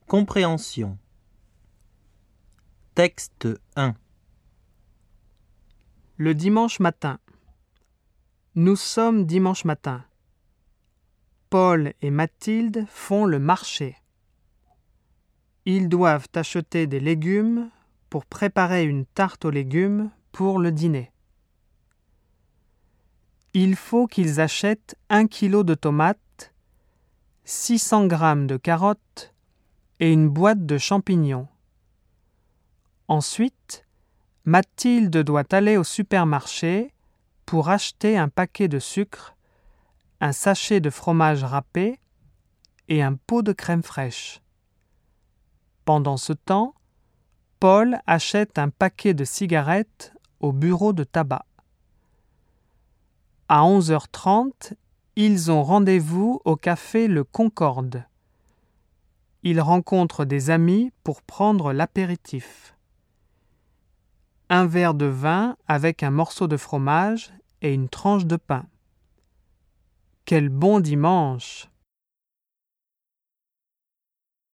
Compréhension. Texte 1. Le dimanche matin. Nous sommes dimanche matin. Paul et Mathilde font le marché. Ils doivent acheter des légumes pour préparer une tarte aux légumes pour le dîner. Il faut qu'ils achètent 1 kilo de tomates, 600 grammes de carottes et une boîte de champignons. Ensuite, Mathilde doit aller au supermarché pour acheter un paquet de sucre, un sachet de fromage râpé et un pot de crème fraîche. Pendant ce temps, Paul achète un paquet de cigarettes au bureau de tabac. À 11h30, ils ont rendez-vous au café Le Concorde. Ils rencontrent des amis pour prendre l'apéritif. Un verre de vin avec un morceau de fromage et une tranche de pain. Quel bon dimanche!